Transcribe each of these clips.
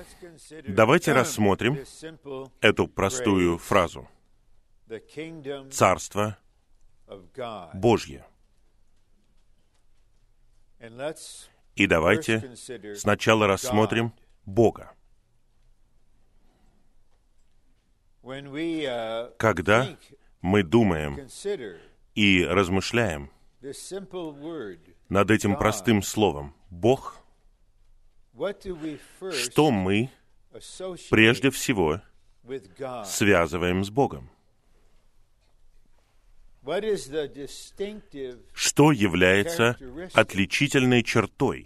Давайте рассмотрим эту простую фразу. Царство Божье. И давайте сначала рассмотрим Бога. Когда мы думаем и размышляем над этим простым словом «Бог», что мы прежде всего связываем с Богом? Что является отличительной чертой,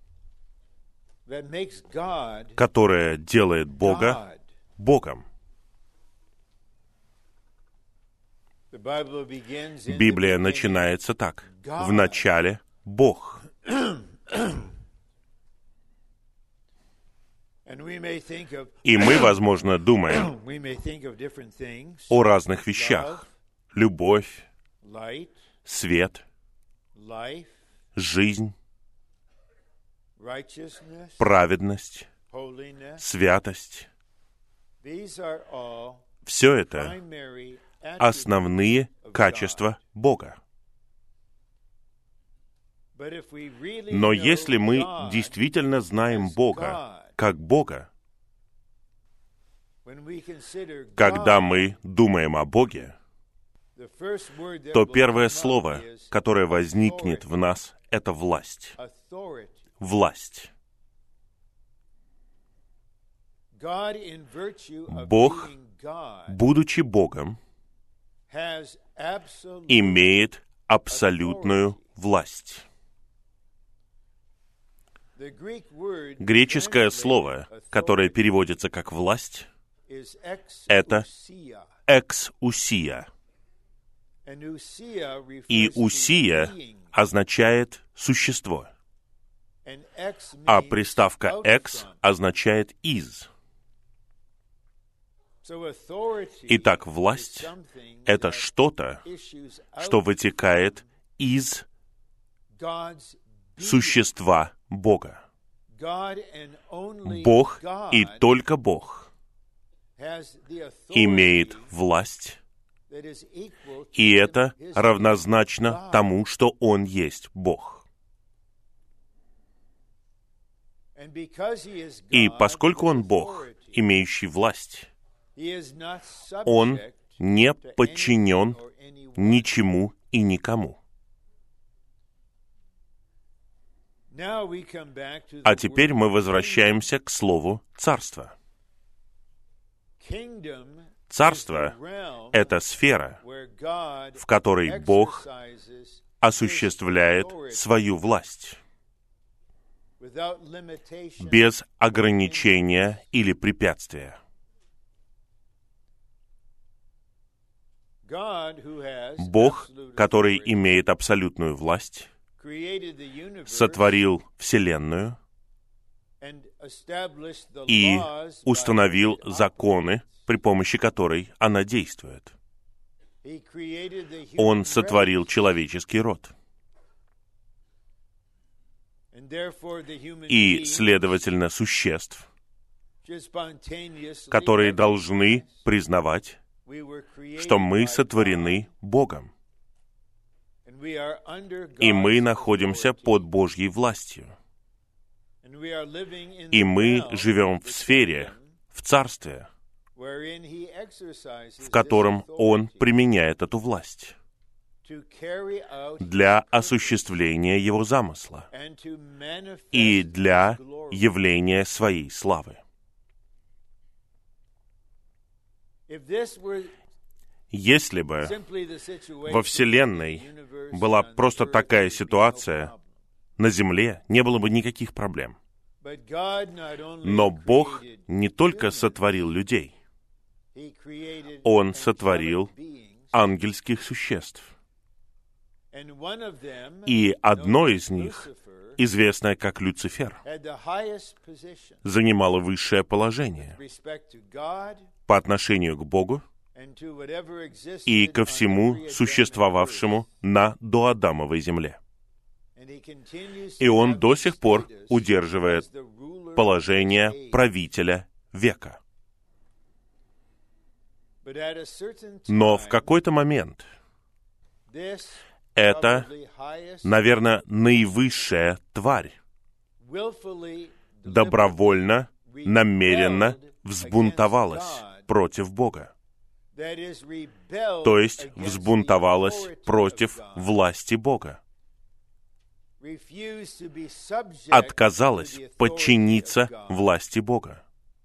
которая делает Бога Богом? Библия начинается так. В начале Бог. И мы, возможно, думаем о разных вещах. Любовь, свет, жизнь, праведность, святость. Все это основные качества Бога. Но если мы действительно знаем Бога как Бога, когда мы думаем о Боге, то первое слово, которое возникнет в нас, это власть. Власть. Бог, будучи Богом, имеет абсолютную власть. Греческое слово, которое переводится как «власть», это «эксусия». И «усия» означает «существо», а приставка «экс» означает «из». Итак, власть — это что-то, что вытекает из существа Бога. Бог и только Бог имеет власть, и это равнозначно тому, что Он есть Бог. И поскольку Он Бог, имеющий власть, Он не подчинен ничему и никому. А теперь мы возвращаемся к слову «царство». Царство — это сфера, в которой Бог осуществляет свою власть без ограничения или препятствия. Бог, который имеет абсолютную власть, сотворил Вселенную и установил законы, при помощи которой она действует. Он сотворил человеческий род. И, следовательно, существ, которые должны признавать, что мы сотворены Богом. И мы находимся под Божьей властью. И мы живем в сфере, в царстве, в котором Он применяет эту власть для осуществления Его замысла и для явления Своей славы. Если бы во Вселенной была просто такая ситуация, на Земле не было бы никаких проблем. Но Бог не только сотворил людей, Он сотворил ангельских существ. И одно из них, известное как Люцифер, занимало высшее положение по отношению к Богу и ко всему существовавшему на доадамовой земле. И он до сих пор удерживает положение правителя века. Но в какой-то момент эта, наверное, наивысшая тварь добровольно, намеренно взбунтовалась против Бога. То есть взбунтовалась против власти Бога. Отказалась подчиниться власти Бога.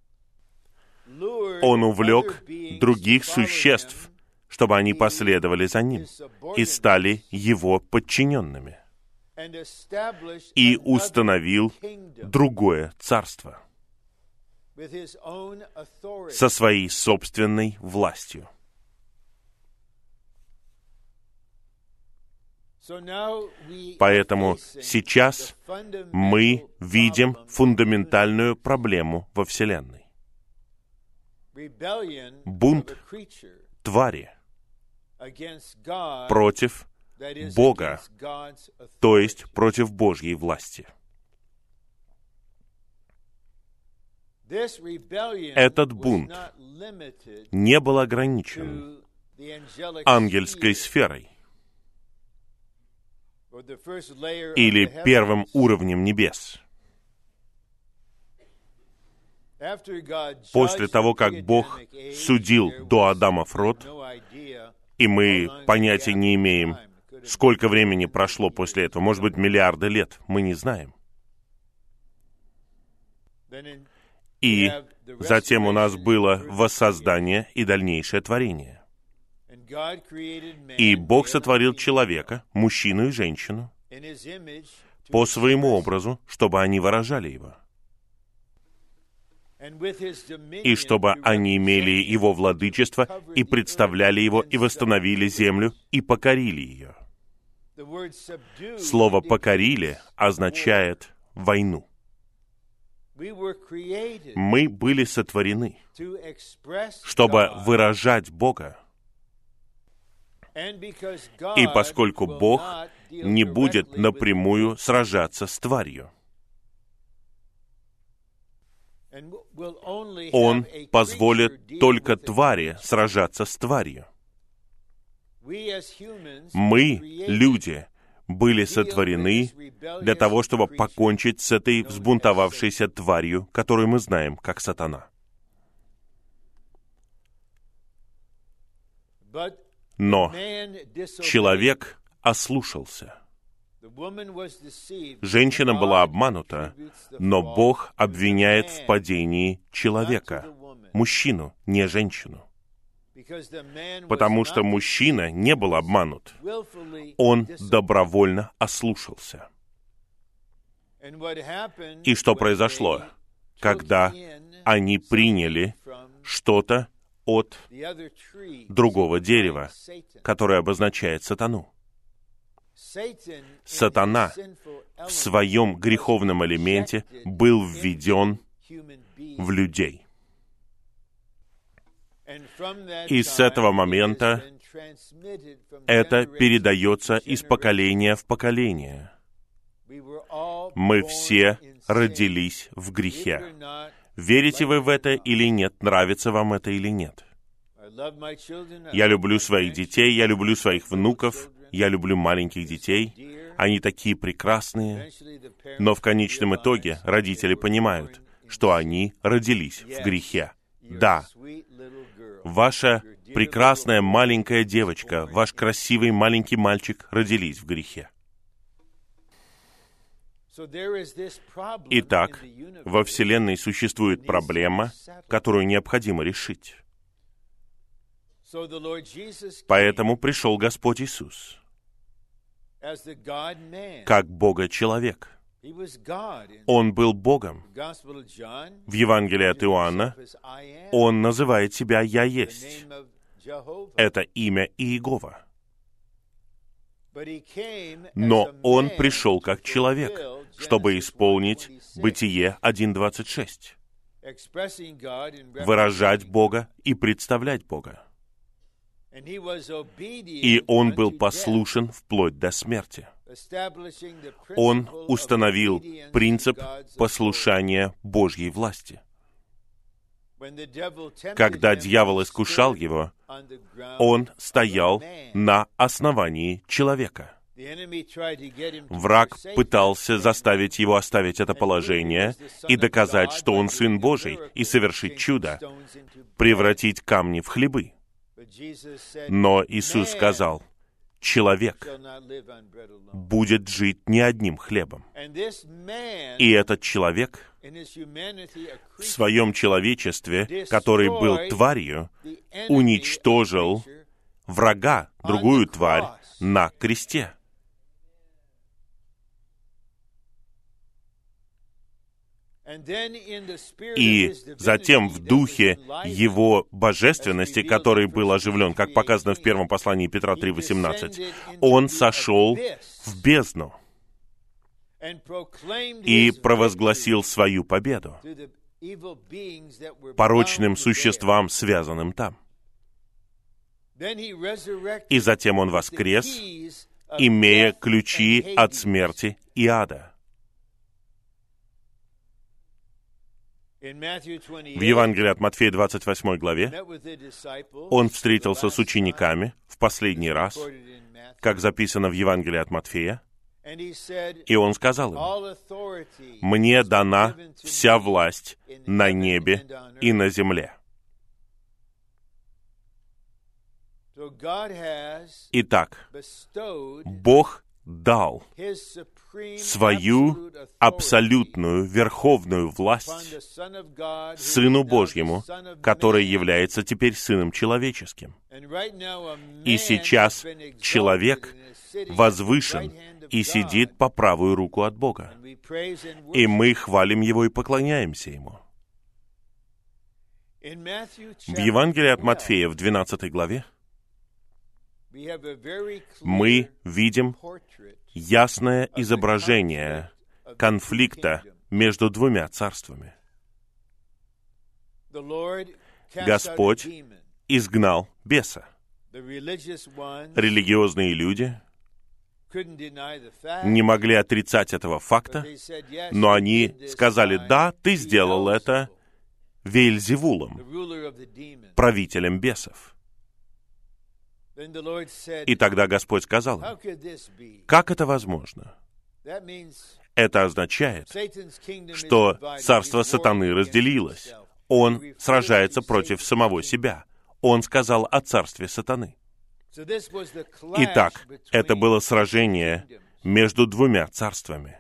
Он увлек других существ, чтобы они последовали за ним и стали его подчиненными. И установил другое царство со своей собственной властью. Поэтому сейчас мы видим фундаментальную проблему во Вселенной. Бунт твари против Бога, то есть против Божьей власти. Этот бунт не был ограничен ангельской сферой или первым уровнем небес. После того, как Бог судил до Адамов род, и мы понятия не имеем, сколько времени прошло после этого, может быть, миллиарды лет, мы не знаем. И затем у нас было воссоздание и дальнейшее творение. И Бог сотворил человека, мужчину и женщину, по своему образу, чтобы они выражали его. И чтобы они имели его владычество, и представляли его, и восстановили землю, и покорили ее. Слово «покорили» означает войну. Мы были сотворены, чтобы выражать Бога. И поскольку Бог не будет напрямую сражаться с тварью, Он позволит только твари сражаться с тварью. Мы, люди, были сотворены для того, чтобы покончить с этой взбунтовавшейся тварью, которую мы знаем как сатана. Но человек ослушался. Женщина была обманута, но Бог обвиняет в падении человека, мужчину, не женщину. Потому что мужчина не был обманут. Он добровольно ослушался. И что произошло, когда они приняли что-то от другого дерева, которое обозначает сатану? Сатана в своем греховном элементе был введен в людей. И с этого момента это передается из поколения в поколение. Мы все родились в грехе. Верите вы в это или нет? Нравится вам это или нет? Я люблю своих детей, я люблю своих внуков, я люблю маленьких детей. Они такие прекрасные. Но в конечном итоге родители понимают, что они родились в грехе. Да, ваша прекрасная маленькая девочка, ваш красивый маленький мальчик родились в грехе. Итак, во Вселенной существует проблема, которую необходимо решить. Поэтому пришел Господь Иисус как Бога-человек. Он был Богом. В Евангелии от Иоанна Он называет себя «Я есть». Это имя Иегова. Но Он пришел как человек, чтобы исполнить Бытие 1:26, выражать Бога и представлять Бога. И Он был послушен вплоть до смерти. Он установил принцип послушания Божьей власти. Когда дьявол искушал его, он стоял на основании человека. Враг пытался заставить его оставить это положение и доказать, что он Сын Божий, и совершить чудо, превратить камни в хлебы. Но Иисус сказал: человек будет жить не одним хлебом. И этот человек в своем человечестве, который был тварью, уничтожил врага, другую тварь, на кресте. И затем в духе Его божественности, который был оживлен, как показано в первом послании Петра 3:18, Он сошел в бездну и провозгласил свою победу порочным существам, связанным там. И затем Он воскрес, имея ключи от смерти и ада. В Евангелии от Матфея 28 главе Он встретился с учениками в последний раз, как записано в Евангелии от Матфея, и Он сказал им: «Мне дана вся власть на небе и на земле». Итак, Бог дал свою абсолютную верховную власть Сыну Божьему, который является теперь Сыном Человеческим. И сейчас человек возвышен и сидит по правую руку от Бога. И мы хвалим Его и поклоняемся Ему. В Евангелии от Матфея в 12 главе мы видим ясное изображение конфликта между двумя царствами. Господь изгнал беса. Религиозные люди не могли отрицать этого факта, но они сказали: «Да, ты сделал это Веельзевулом, правителем бесов». И тогда Господь сказал им: «Как это возможно?» Это означает, что царство сатаны разделилось. Он сражается против самого себя. Он сказал о царстве сатаны. Итак, это было сражение между двумя царствами.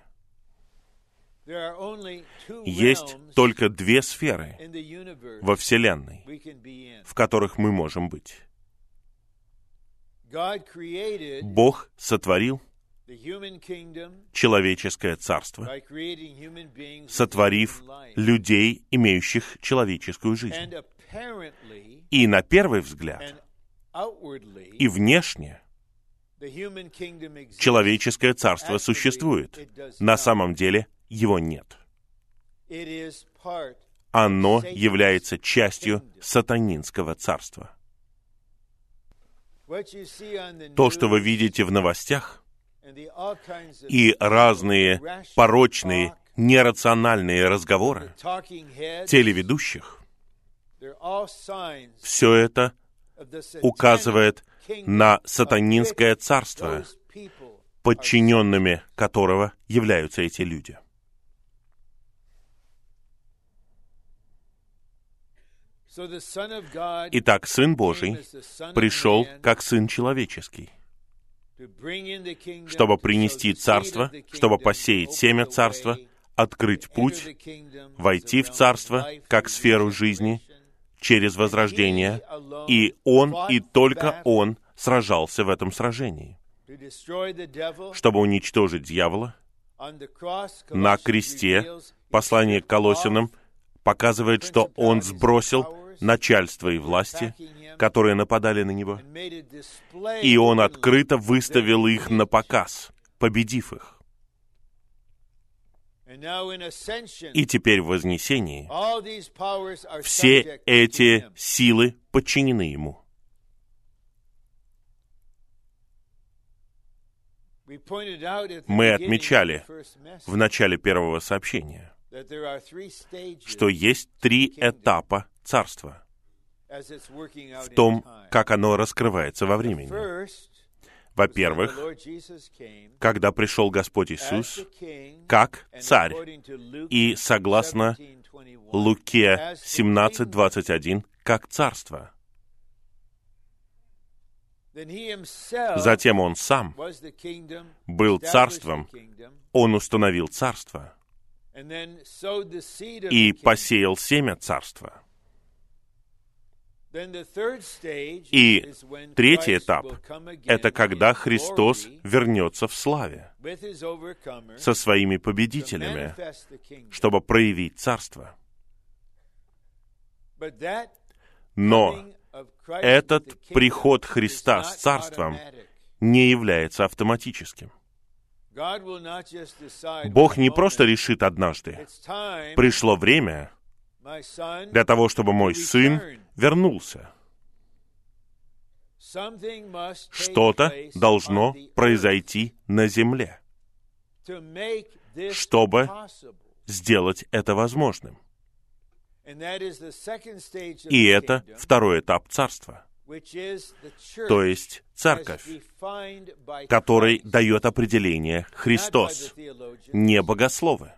Есть только две сферы во Вселенной, в которых мы можем быть. Бог сотворил человеческое царство, сотворив людей, имеющих человеческую жизнь. И на первый взгляд, и внешне, человеческое царство существует. На самом деле его нет. Оно является частью сатанинского царства. То, что вы видите в новостях, и разные порочные, нерациональные разговоры телеведущих, все это указывает на сатанинское царство, подчиненными которого являются эти люди. Итак, Сын Божий пришел как Сын Человеческий, чтобы принести царство, чтобы посеять семя царства, открыть путь, войти в царство как сферу жизни через возрождение, и Он, и только Он сражался в этом сражении, чтобы уничтожить дьявола. На кресте послание к Колоссянам показывает, что Он сбросил начальство и власти, которые нападали на Него, и Он открыто выставил их на показ, победив их. И теперь в вознесении все эти силы подчинены Ему. Мы отмечали в начале первого сообщения, что есть 3 этапа Царства в том, как оно раскрывается во времени. Во-первых, когда пришел Господь Иисус как Царь, и согласно Луке 17:21, как Царство. Затем Он Сам был Царством, Он установил Царство и посеял семя Царства. И третий этап — это когда Христос вернется в славе со своими победителями, чтобы проявить Царство. Но этот приход Христа с Царством не является автоматическим. Бог не просто решит однажды: пришло время для того, чтобы мой сын вернулся. Что-то должно произойти на земле, чтобы сделать это возможным. И это второй этап Царства, то есть Церковь, которой дает определение Христос, не богословы,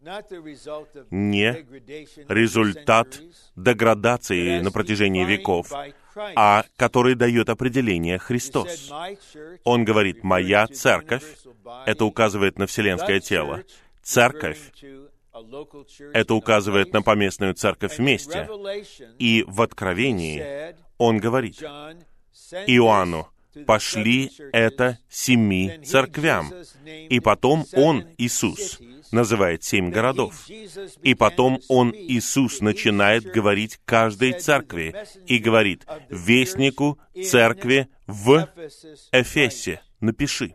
не результат деградации на протяжении веков, а который дает определение Христос. Он говорит: «Моя церковь», это указывает на вселенское тело, церковь, это указывает на поместную церковь вместе. И в Откровении Он говорит Иоанну: «Пошли это 7 церквям». И потом Он, Иисус, называет 7 городов. И потом Он, Иисус, начинает говорить каждой церкви и говорит: «Вестнику церкви в Эфесе напиши».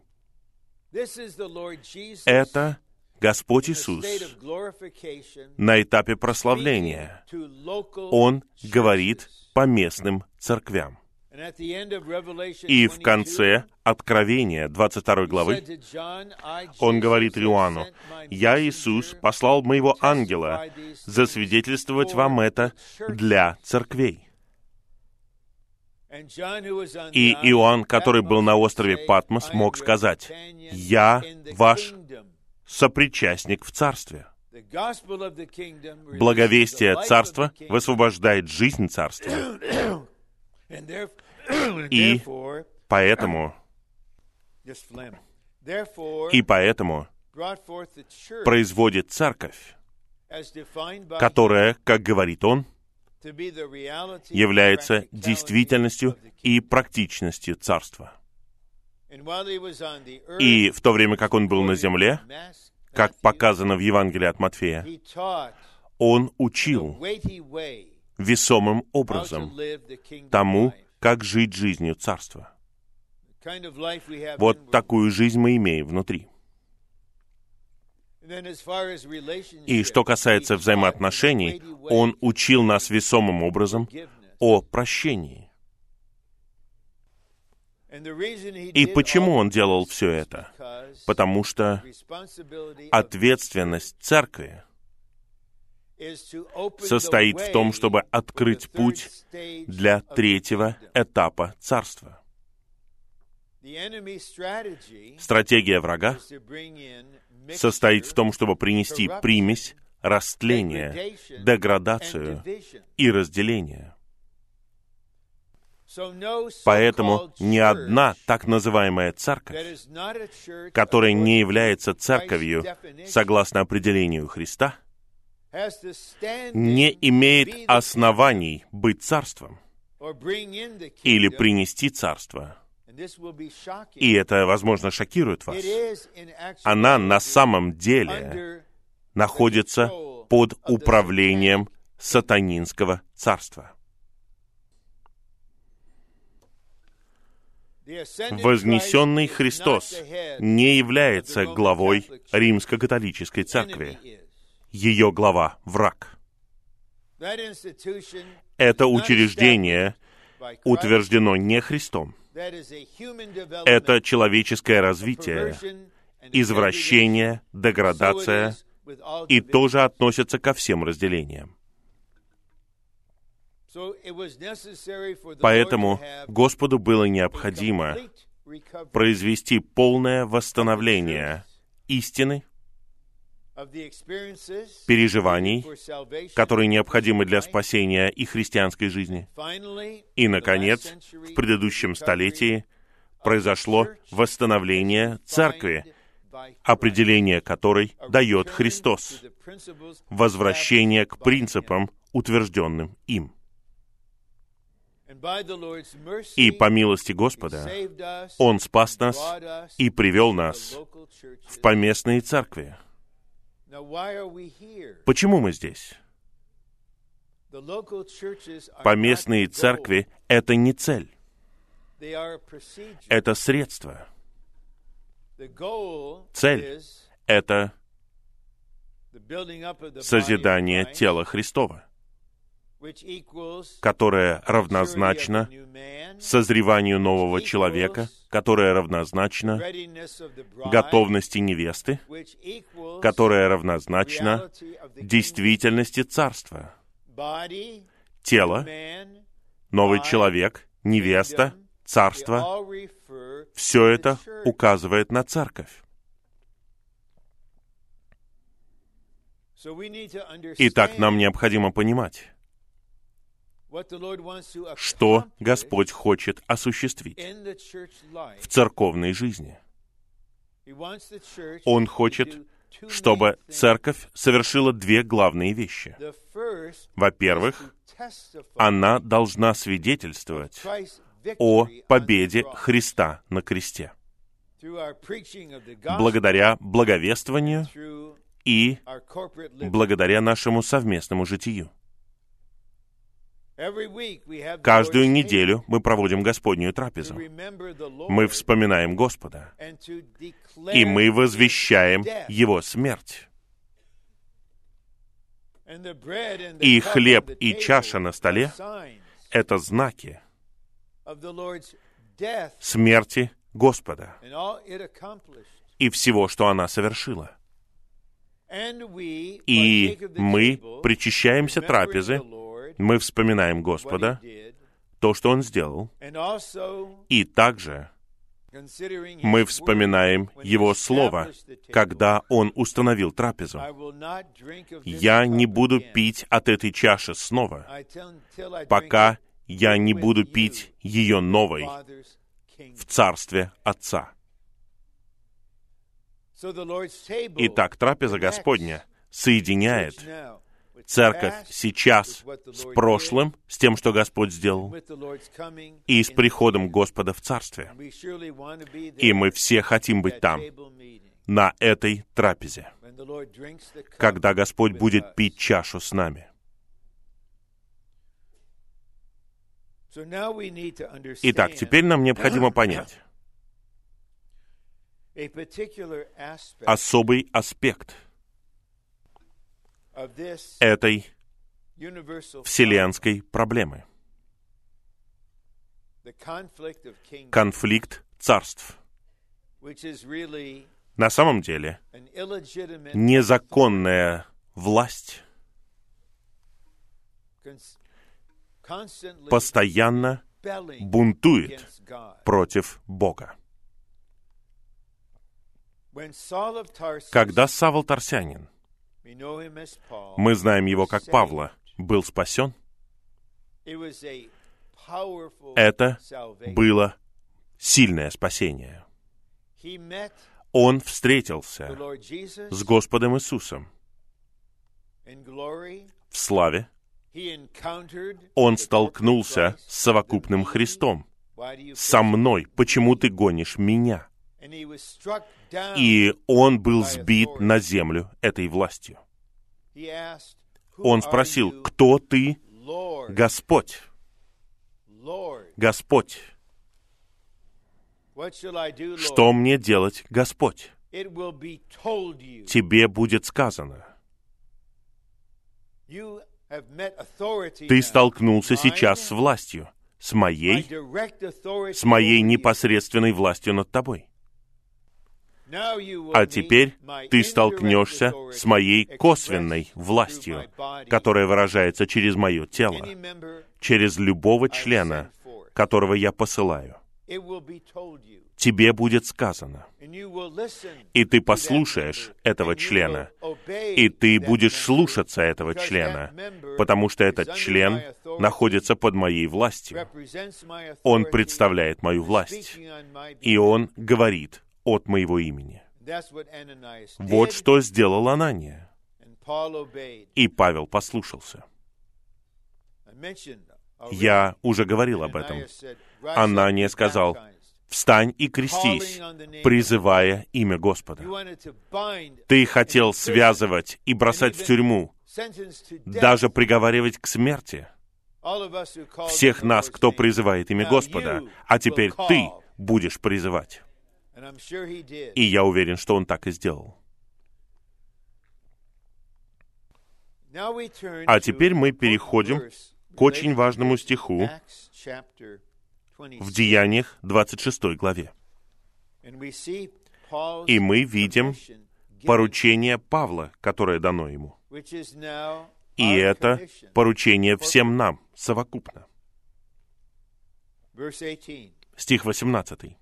Это Господь Иисус на этапе прославления. Он говорит по местным церквям. И в конце Откровения 22 главы Он говорит Иоанну: «Я, Иисус, послал моего ангела засвидетельствовать вам это для церквей». И Иоанн, который был на острове Патмос, мог сказать: «Я ваш сопричастник в Царстве». Благовестие Царства высвобождает жизнь Царства. И поэтому производит Церковь, которая, как говорит Он, является действительностью и практичностью Царства. И в то время, как Он был на земле, как показано в Евангелии от Матфея, Он учил весомым образом тому, как жить жизнью Царства. Вот такую жизнь мы имеем внутри. И что касается взаимоотношений, Он учил нас весомым образом о прощении. И почему Он делал все это? Потому что ответственность Церкви состоит в том, чтобы открыть путь для третьего этапа Царства. Стратегия врага состоит в том, чтобы принести примесь, растление, деградацию и разделение. Поэтому ни одна так называемая церковь, которая не является церковью согласно определению Христа, не имеет оснований быть царством или принести царство. И это, возможно, шокирует вас. Она на самом деле находится под управлением сатанинского царства. Вознесенный Христос не является главой Римско-католической церкви. Ее глава — враг. Это учреждение утверждено не Христом, Это человеческое развитие, извращение, деградация, и тоже относится ко всем разделениям. Поэтому Господу было необходимо произвести полное восстановление истины, переживаний, которые необходимы для спасения и христианской жизни. И, наконец, в предыдущем столетии произошло восстановление церкви, определение которой дает Христос, возвращение к принципам, утвержденным им. И по милости Господа Он спас нас и привел нас в поместные церкви. Почему мы здесь? Поместные церкви — это не цель, это средство. Цель — это созидание тела Христова, которое равнозначно созреванию нового человека, которое равнозначно готовности невесты, которое равнозначно действительности царства. Тело, новый человек, невеста, царство — все это указывает на церковь. Итак, нам необходимо понимать, что Господь хочет осуществить в церковной жизни. Он хочет, чтобы церковь совершила две главные вещи. Во-первых, она должна свидетельствовать о победе Христа на кресте, благодаря благовествованию и благодаря нашему совместному житию. Каждую неделю мы проводим Господнюю трапезу. Мы вспоминаем Господа, и мы возвещаем Его смерть. И хлеб, и чаша на столе — это знаки смерти Господа и всего, что она совершила. И мы причащаемся трапезы, мы вспоминаем Господа, то, что Он сделал, и также мы вспоминаем Его Слово, когда Он установил трапезу. «Я не буду пить от этой чаши снова, пока я не буду пить ее новой в Царстве Отца». Итак, трапеза Господня соединяет церковь сейчас с прошлым, с тем, что Господь сделал, и с приходом Господа в Царстве. И мы все хотим быть там, на этой трапезе, когда Господь будет пить чашу с нами. Итак, теперь нам необходимо понять особый аспект этой вселенской проблемы. Конфликт царств. На самом деле, незаконная власть постоянно бунтует против Бога. Когда Савл Тарсянин, мы знаем его как Павла, был спасен, это было сильное спасение. Он встретился с Господом Иисусом в славе. Он столкнулся с совокупным Христом. «Со мной, почему ты гонишь меня?» И он был сбит на землю этой властью. Он спросил: «Кто ты, Господь?» «Господь, что мне делать, Господь?» «Тебе будет сказано». Ты столкнулся сейчас с властью, с моей непосредственной властью над тобой. А теперь ты столкнешься с моей косвенной властью, которая выражается через мое тело, через любого члена, которого я посылаю. Тебе будет сказано, и ты послушаешь этого члена, и ты будешь слушаться этого члена, потому что этот член находится под моей властью. Он представляет мою власть, и он говорит от моего имени. Вот что сделал Анания. И Павел послушался. Я уже говорил об этом. Анания сказал: «Встань и крестись, призывая имя Господа». Ты хотел связывать и бросать в тюрьму, даже приговаривать к смерти всех нас, кто призывает имя Господа, а теперь ты будешь призывать. И я уверен, что он так и сделал. А теперь мы переходим к очень важному стиху в Деяниях 26 главе. И мы видим поручение Павла, которое дано ему. И это поручение всем нам совокупно. Стих 18.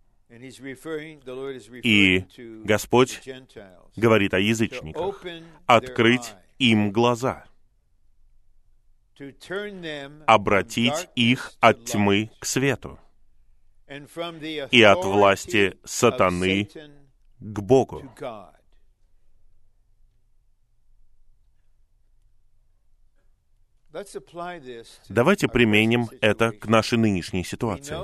И Господь говорит о язычниках: «Открыть им глаза, обратить их от тьмы к свету и от власти сатаны к Богу». Давайте применим это к нашей нынешней ситуации.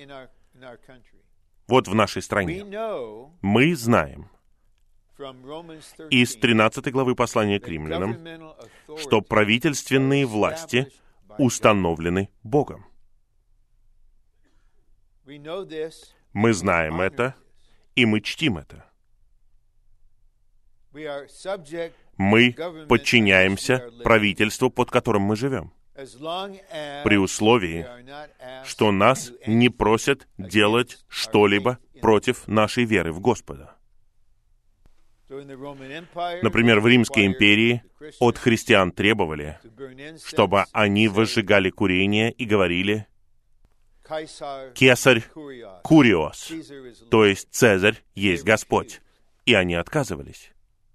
Вот в нашей стране. Мы знаем из 13 главы послания к римлянам, что правительственные власти установлены Богом. Мы знаем это, и мы чтим это. Мы подчиняемся правительству, под которым мы живем, при условии, что нас не просят делать что-либо против нашей веры в Господа. Например, в Римской империи от христиан требовали, чтобы они возжигали курение и говорили: «Кесарь Куриос», то есть Цезарь есть Господь. И они отказывались.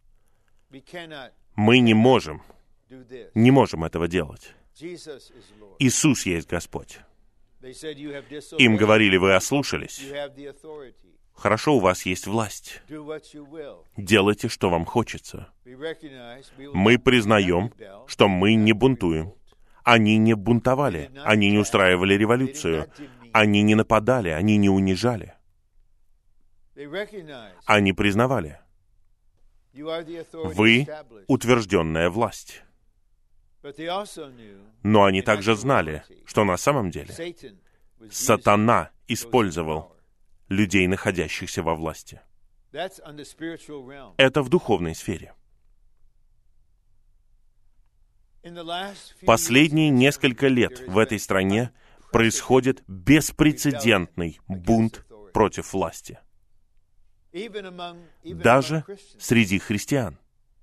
Мы не можем этого делать. Иисус есть Господь. Им говорили: вы ослушались. Хорошо, у вас есть власть. Делайте, что вам хочется. Мы признаем, что мы не бунтуем. Они не бунтовали, они не устраивали революцию, они не нападали, они не унижали. Они признавали: вы утвержденная власть. Но они также знали, что на самом деле сатана использовал людей, находящихся во власти. Это в духовной сфере. Последние несколько лет в этой стране происходит беспрецедентный бунт против власти. Даже среди христиан,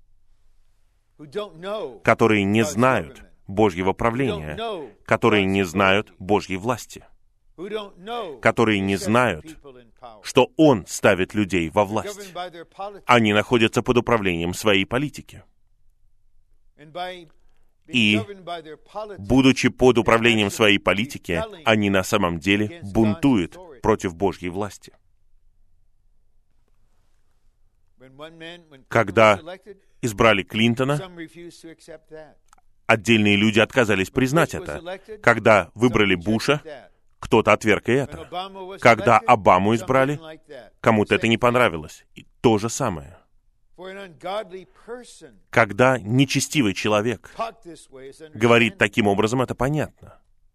которые не знают Божьего правления, которые не знают Божьей власти, которые не знают, что Он ставит людей во власть. Они находятся под управлением своей политики. И, будучи под управлением своей политики, они на самом деле бунтуют против Божьей власти. Когда избрали Клинтона, отдельные люди отказались признать это. Когда выбрали Буша, кто-то отверг и это. Когда Обаму избрали, кому-то это не понравилось. И то же самое. Когда нечестивый человек говорит таким образом, это понятно.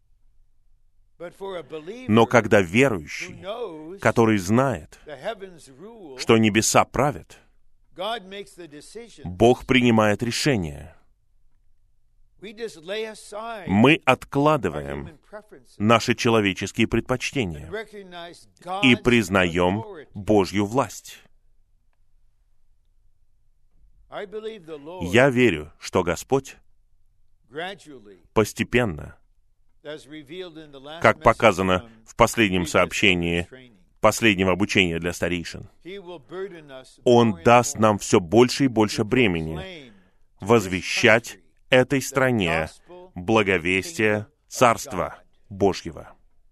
Но когда верующий, который знает, что небеса правят, Бог принимает решение. Мы откладываем наши человеческие предпочтения и признаем Божью власть. Я верю, что Господь постепенно, как показано в последнем сообщении последнего обучения для старейшин, Он даст нам все больше и больше бремени возвещать этой стране благовестие Царства Божьего.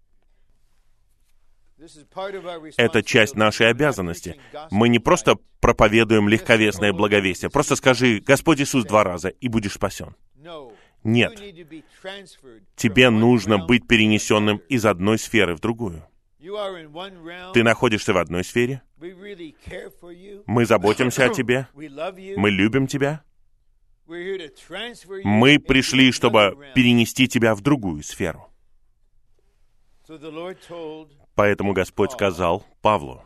Это часть нашей обязанности. Мы не просто проповедуем легковесное благовестие. Просто скажи «Господь Иисус» 2 раза, и будешь спасен. Нет. Тебе нужно быть перенесенным из одной сферы в другую. Ты находишься в одной сфере. Мы заботимся о тебе. Мы любим тебя. Мы пришли, чтобы перенести тебя в другую сферу. Поэтому Господь сказал Павлу: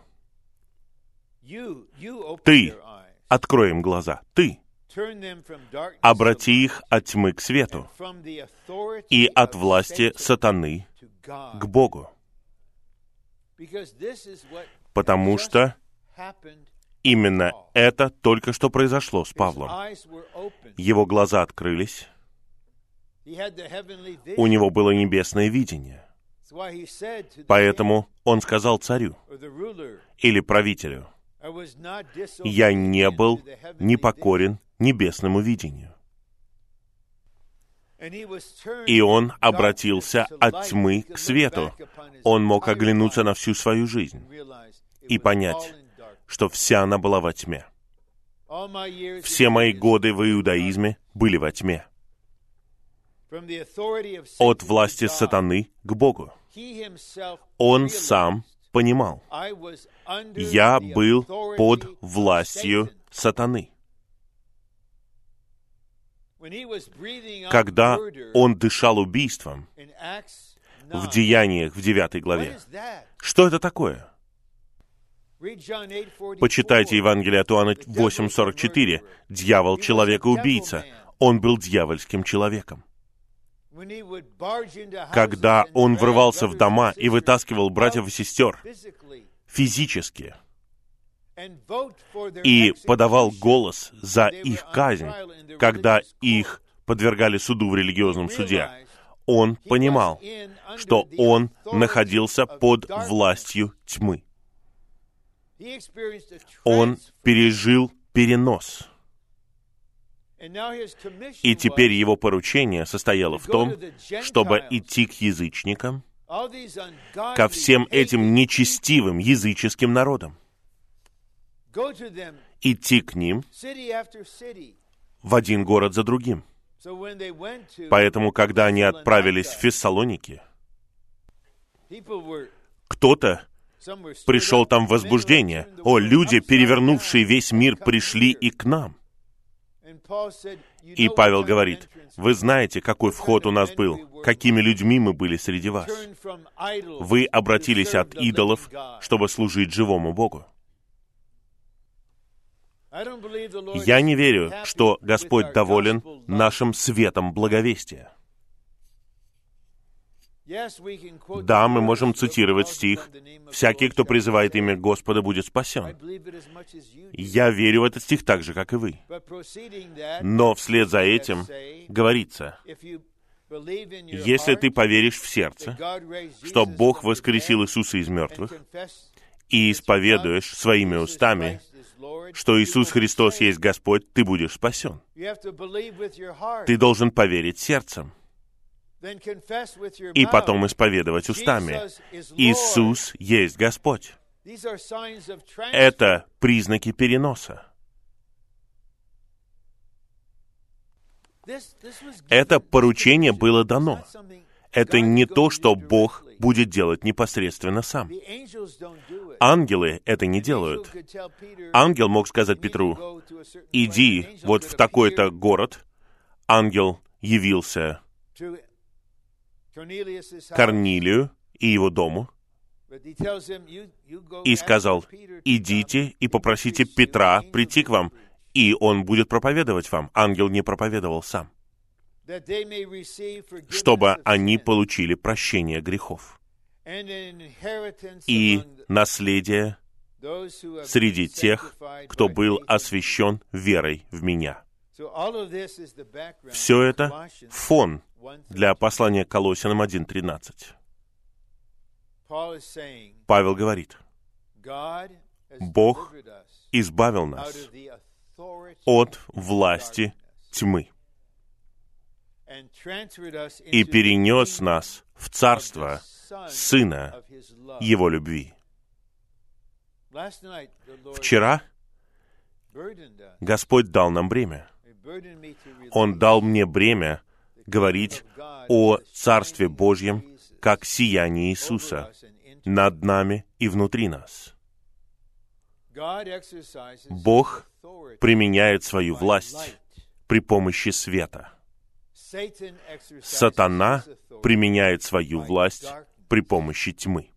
«Ты, открой им глаза, ты, обрати их от тьмы к свету и от власти сатаны к Богу». Потому что именно это только что произошло с Павлом. Его глаза открылись, у него было небесное видение. Поэтому он сказал царю или правителю: «Я не был непокорен небесному видению». И он обратился от тьмы к свету. Он мог оглянуться на всю свою жизнь и понять, что вся она была во тьме. Все мои годы в иудаизме были во тьме. От власти сатаны к Богу. Он сам понимал: я был под властью сатаны. Когда он дышал убийством в Деяниях в 9 главе, что это такое? Почитайте Евангелие от Иоанна 8:44. Дьявол — человека-убийца. Он был дьявольским человеком. Когда он врывался в дома и вытаскивал братьев и сестер физически и подавал голос за их казнь, когда их подвергали суду в религиозном суде, он понимал, что он находился под властью тьмы. Он пережил перенос. И теперь его поручение состояло в том, чтобы идти к язычникам, ко всем этим нечестивым языческим народам, идти к ним в один город за другим. Поэтому, когда они отправились в Фессалоники, кто-то пришел там в возбуждение. О, люди, перевернувшие весь мир, пришли и к нам. И Павел говорит: вы знаете, какой вход у нас был, какими людьми мы были среди вас. Вы обратились от идолов, чтобы служить живому Богу. Я не верю, что Господь доволен нашим светом благовестия. Да, мы можем цитировать стих: «Всякий, кто призывает имя Господа, будет спасен». Я верю в этот стих так же, как и вы. Но вслед за этим говорится: если ты поверишь в сердце, что Бог воскресил Иисуса из мертвых, и исповедуешь своими устами, что Иисус Христос есть Господь, ты будешь спасен. Ты должен поверить сердцем и потом исповедовать устами: Иисус есть Господь. Это признаки переноса. Это поручение было дано. Это не то, что Бог будет делать непосредственно сам. Ангелы это не делают. Ангел мог сказать Петру: иди вот в такой-то город. Ангел явился Корнилию и его дому и сказал: идите и попросите Петра прийти к вам, и он будет проповедовать вам. Ангел не проповедовал сам. чтобы они получили прощение грехов и наследие среди тех, кто был освящен верой в Меня. Все это фон для послания к Колоссянам 1:13. Павел говорит, Бог избавил нас от власти тьмы и перенес нас в царство Сына Его любви. Вчера Господь дал нам бремя. Он дал мне бремя говорить о Царстве Божьем как сияние Иисуса над нами и внутри нас. Бог применяет свою власть при помощи света. Сатана применяет свою власть при помощи тьмы.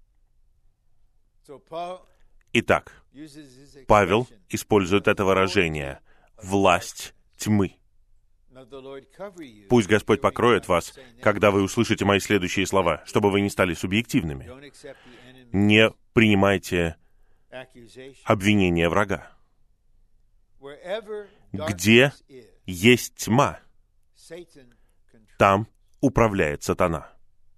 Итак, Павел использует это выражение «власть тьмы». Пусть Господь покроет вас, когда вы услышите мои следующие слова, чтобы вы не стали субъективными. Не принимайте обвинения врага. Где есть тьма, там управляет сатана.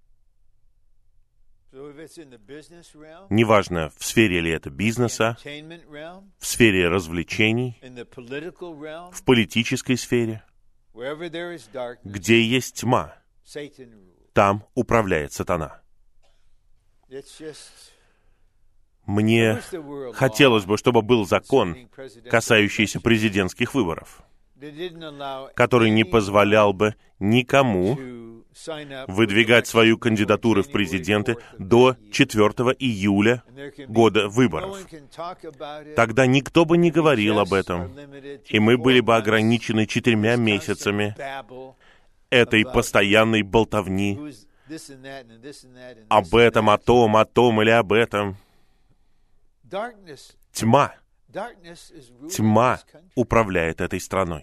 Неважно, в сфере ли это бизнеса, в сфере развлечений, в политической сфере, где есть тьма, там управляет сатана. Мне хотелось бы, чтобы был закон, касающийся президентских выборов, который не позволял бы никому выдвигать свою кандидатуру в президенты до 4 июля года выборов. Тогда никто бы не говорил об этом, и мы были бы ограничены 4 месяцами этой постоянной болтовни об этом, о том или об этом. Тьма управляет этой страной.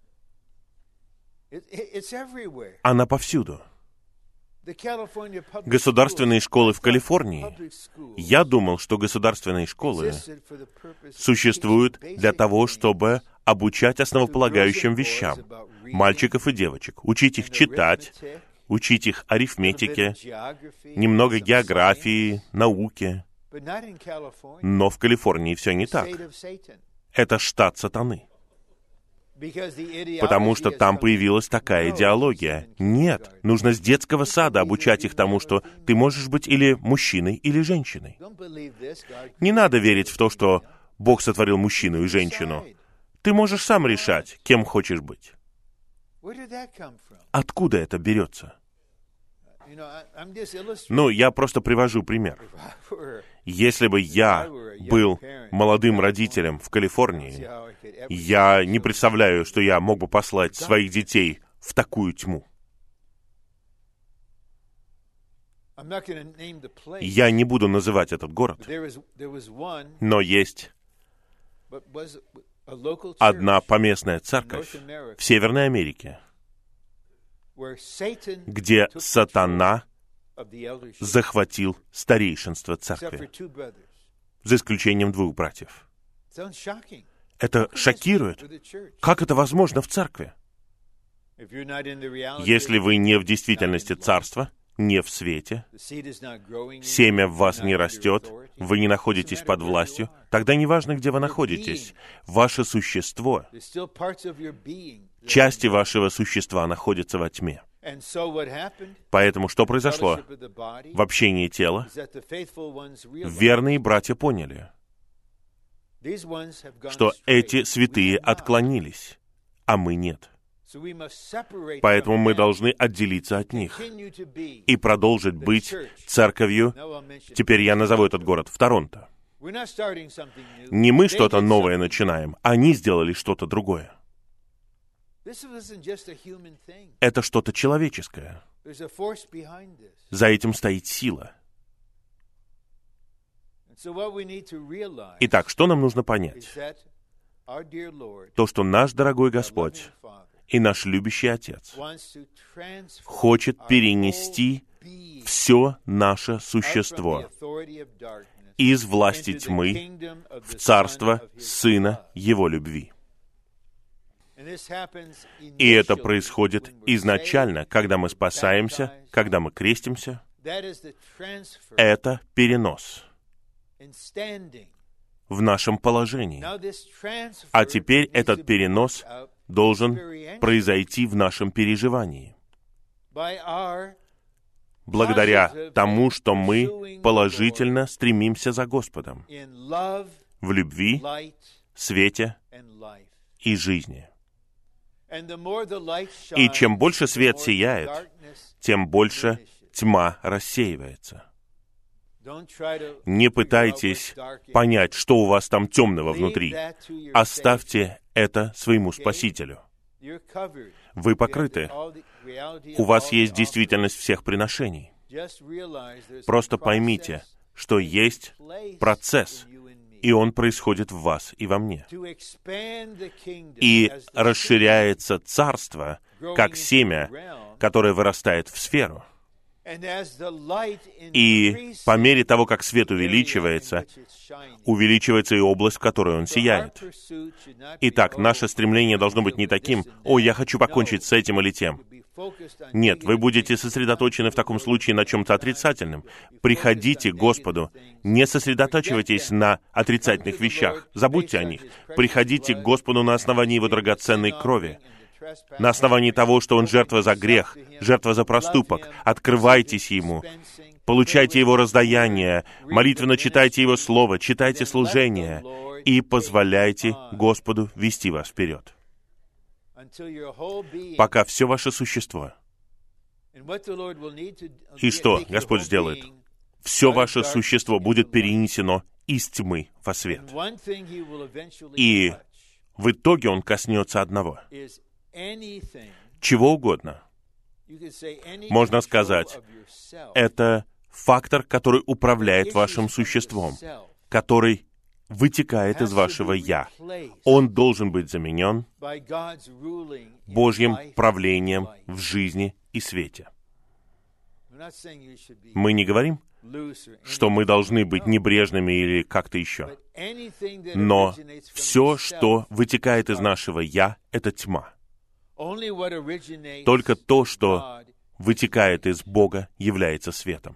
Она повсюду. Государственные школы в Калифорнии. Я думал, что государственные школы существуют для того, чтобы обучать основополагающим вещам мальчиков и девочек, учить их читать, учить их арифметике, немного географии, науке. Но в Калифорнии все не так. Это штат сатаны. Потому что там появилась такая идеология. Нет, нужно с детского сада обучать их тому, что ты можешь быть или мужчиной, или женщиной. Не надо верить в то, что Бог сотворил мужчину и женщину. Ты можешь сам решать, кем хочешь быть. Откуда это берется? Ну, я просто привожу пример. Если бы я был молодым родителем в Калифорнии, я не представляю, что я мог бы послать своих детей в такую тьму. Я не буду называть этот город, но есть одна поместная церковь в Северной Америке, где сатана захватил старейшинство церкви, за исключением 2 братьев. Это шокирует. Как это возможно в церкви? Если вы не в действительности царства, не в свете, семя в вас не растет, вы не находитесь под властью, тогда неважно, где вы находитесь, ваше существо, части вашего существа находятся во тьме. Поэтому что произошло? В общении тела верные братья поняли, что эти святые отклонились, а мы нет. Поэтому мы должны отделиться от них и продолжить быть церковью, теперь я назову этот город, в Торонто. Не мы что-то новое начинаем, они сделали что-то другое. Это что-то человеческое. За этим стоит сила. Итак, что нам нужно понять? То, что наш дорогой Господь И наш любящий Отец хочет перенести все наше существо из власти тьмы в царство Сына Его любви. И это происходит изначально, когда мы спасаемся, когда мы крестимся. Это перенос в нашем положении. А теперь этот перенос должен произойти в нашем переживании. Благодаря тому, что мы положительно стремимся за Господом в любви, свете и жизни. И чем больше свет сияет, тем больше тьма рассеивается. Не пытайтесь понять, что у вас там темного внутри. Оставьте это своему Спасителю. Вы покрыты. У вас есть действительность всех приношений. Просто поймите, что есть процесс, и он происходит в вас и во мне. И расширяется царство, как семя, которое вырастает в сферу. И по мере того, как свет увеличивается и область, в которой он сияет. Итак, наше стремление должно быть не таким: «О, я хочу покончить с этим или тем». Нет, вы будете сосредоточены в таком случае на чем-то отрицательном. Приходите к Господу. Не сосредотачивайтесь на отрицательных вещах. Забудьте о них. Приходите к Господу на основании Его драгоценной крови. На основании того, что Он жертва за грех, жертва за проступок. Открывайтесь Ему. Получайте Его раздаяние. Молитвенно читайте Его Слово. Читайте служение. И позволяйте Господу вести вас вперед. Пока все ваше существо. И что Господь сделает? Все ваше существо будет перенесено из тьмы во свет. И в итоге Он коснется одного. Чего угодно. Можно сказать, это фактор, который управляет вашим существом, который вытекает из вашего «я». Он должен быть заменен Божьим правлением в жизни и свете. Мы не говорим, что мы должны быть небрежными или как-то еще. Но все, что вытекает из нашего «я», — это тьма. Только то, что вытекает из Бога, является светом.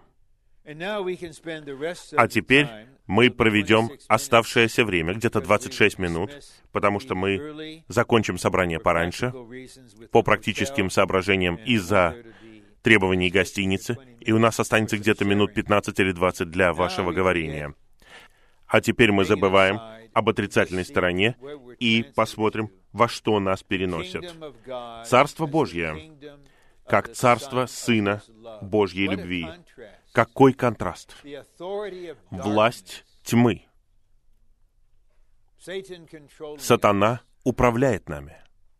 А теперь мы проведем оставшееся время, где-то 26 минут, потому что мы закончим собрание пораньше, по практическим соображениям из-за требований гостиницы, и у нас останется где-то минут 15 или 20 для вашего говорения. А теперь мы забываем об отрицательной стороне и посмотрим, во что нас переносят. Царство Божье, как царство Сына Божьей любви. Какой контраст! Власть тьмы. Сатана управляет нами.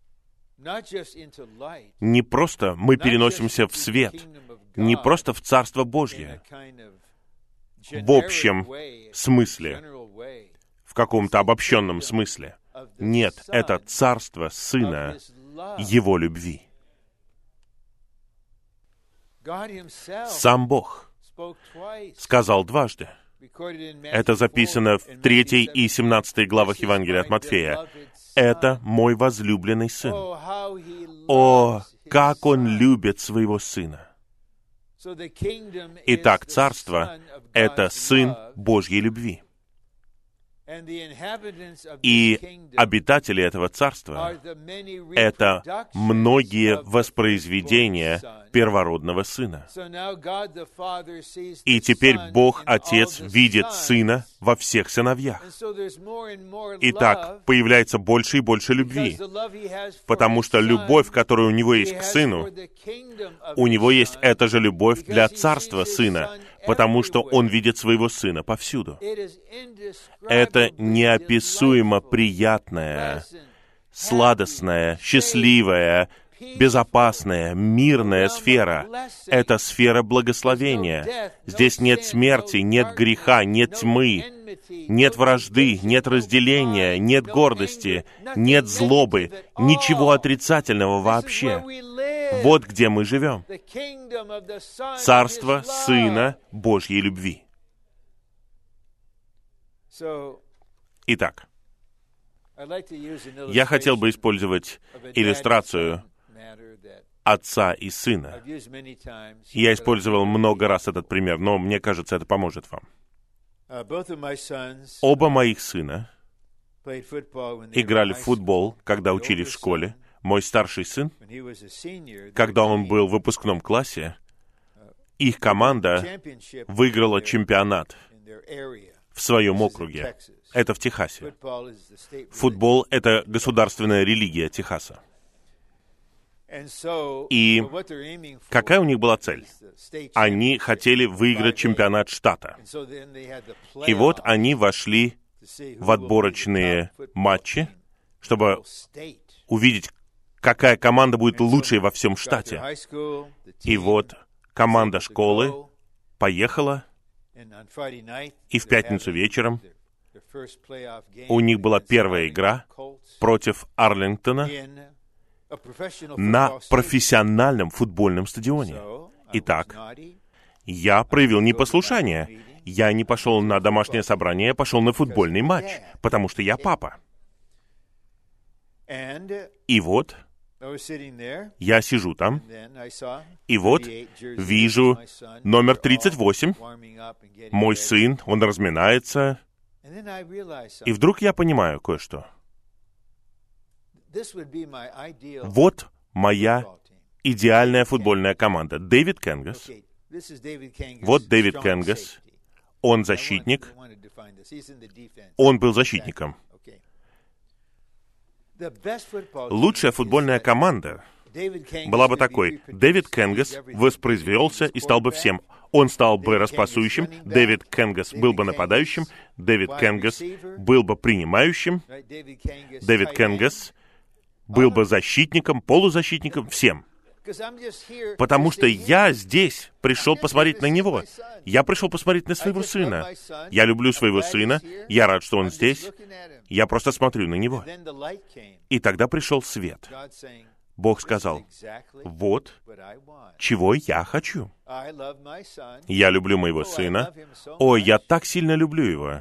Не просто мы переносимся в свет, не просто в Царство Божье, в общем смысле, в каком-то обобщенном смысле. Нет, это Царство Сына Его любви. Сам Бог сказал дважды. Это записано в 3 и 17 главах Евангелия от Матфея. «Это мой возлюбленный Сын». О, как Он любит Своего Сына! Итак, Царство — это Сын Божьей любви. И обитатели этого Царства — это многие воспроизведения первородного Сына. И теперь Бог Отец видит Сына во всех сыновьях. Итак, появляется больше и больше любви, потому что любовь, которая у Него есть к Сыну, у Него есть эта же любовь для Царства Сына, потому что Он видит Своего Сына повсюду. Это неописуемо приятное, сладостное, счастливое безопасная, мирная сфера. Это сфера благословения. Здесь нет смерти, нет греха, нет тьмы, нет вражды, нет разделения, нет гордости, нет злобы, ничего отрицательного вообще. Вот где мы живем. Царство Сына Божьей любви. Итак, я хотел бы использовать иллюстрацию отца и сына. Я использовал много раз этот пример, но мне кажется, это поможет вам. Оба моих сына играли в футбол, когда учились в школе. Мой старший сын, когда он был в выпускном классе, их команда выиграла чемпионат в своем округе. Это в Техасе. Футбол — это государственная религия Техаса. И какая у них была цель? Они хотели выиграть чемпионат штата. И вот они вошли в отборочные матчи, чтобы увидеть, какая команда будет лучшей во всем штате. И вот команда школы поехала, и в пятницу вечером у них была первая игра против Арлингтона на профессиональном футбольном стадионе. Итак, я проявил непослушание. Я не пошел на домашнее собрание, я пошел на футбольный матч, потому что я папа. И вот я сижу там, и вот вижу номер 38, мой сын, он разминается, и вдруг я понимаю кое-что. Вот моя идеальная футбольная команда. Дэвид Кенгас. Вот Дэвид Кенгас. Он защитник. Он был защитником. Лучшая футбольная команда была бы такой. Дэвид Кенгас воспроизвелся и стал бы всем. Он стал бы распасующим, Дэвид Кенгас был бы нападающим, Дэвид Кенгас был бы принимающим, Дэвид Кенгас был бы защитником, полузащитником, всем. Потому что я здесь пришел посмотреть на него. Я пришел посмотреть на своего сына. Я люблю своего сына. Я рад, что он здесь. Я просто смотрю на него. И тогда пришел свет. Бог сказал, вот чего я хочу. Я люблю моего сына. О, я так сильно люблю его.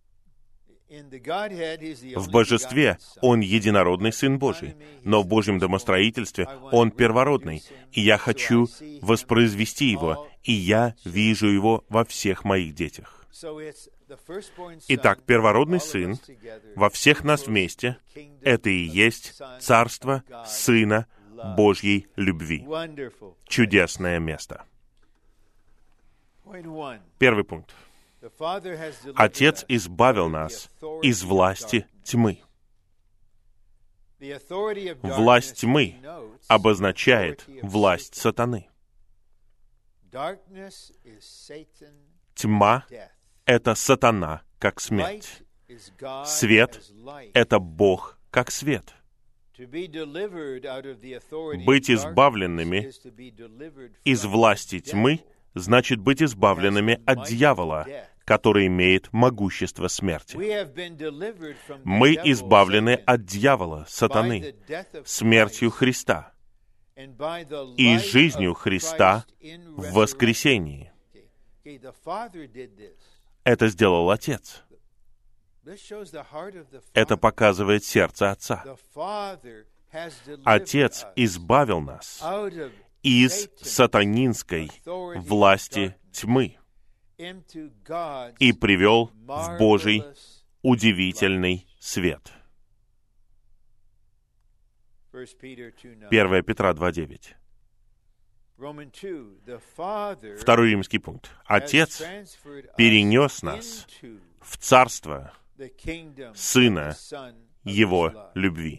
В божестве Он единородный Сын Божий, но в Божьем домостроительстве Он первородный, и я хочу воспроизвести Его, и я вижу Его во всех моих детях. Итак, первородный Сын во всех нас вместе — это и есть Царство Сына Божьей любви. Чудесное место. Первый пункт. Отец избавил нас из власти тьмы. Власть тьмы обозначает власть сатаны. Тьма — это сатана, как смерть. Свет — это Бог, как свет. Быть избавленными из власти тьмы значит быть избавленными от дьявола, который имеет могущество смерти. Мы избавлены от дьявола, сатаны, смертью Христа и жизнью Христа в воскресении. Это сделал Отец. Это показывает сердце Отца. Отец избавил нас из сатанинской власти тьмы и привел в Божий удивительный свет. 1 Петра 2:9. Второй римский пункт. Отец перенес нас в царство Сына Его любви.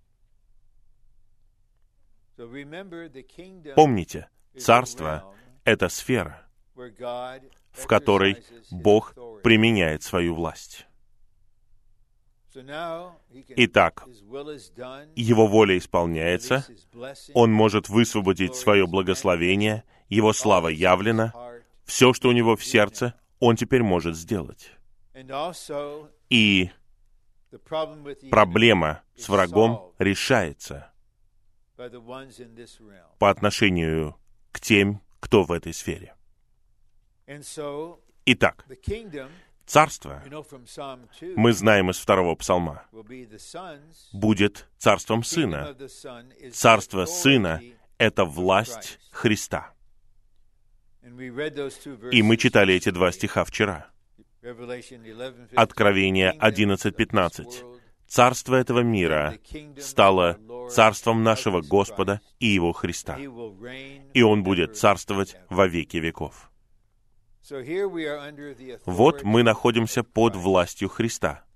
Помните, царство — это сфера, в которой Бог применяет свою власть. Итак, Его воля исполняется, Он может высвободить свое благословение, Его слава явлена, все, что у Него в сердце, Он теперь может сделать. И проблема с врагом решается по отношению к тем, кто в этой сфере. Итак, Царство, мы знаем из 2-го Псалма, будет царством Сына. Царство Сына — это власть Христа. И мы читали эти 2 стиха вчера. Откровение 11:15. Царство этого мира стало царством нашего Господа и Его Христа, и Он будет царствовать во веки веков. Вот мы находимся под властью Христа.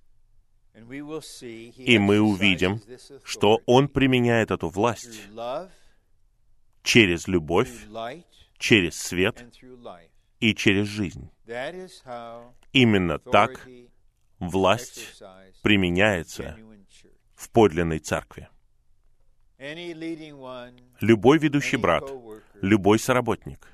И мы увидим, что Он применяет эту власть через любовь, через свет и через жизнь. Именно так власть применяется в подлинной церкви. Любой ведущий брат, любой соработник,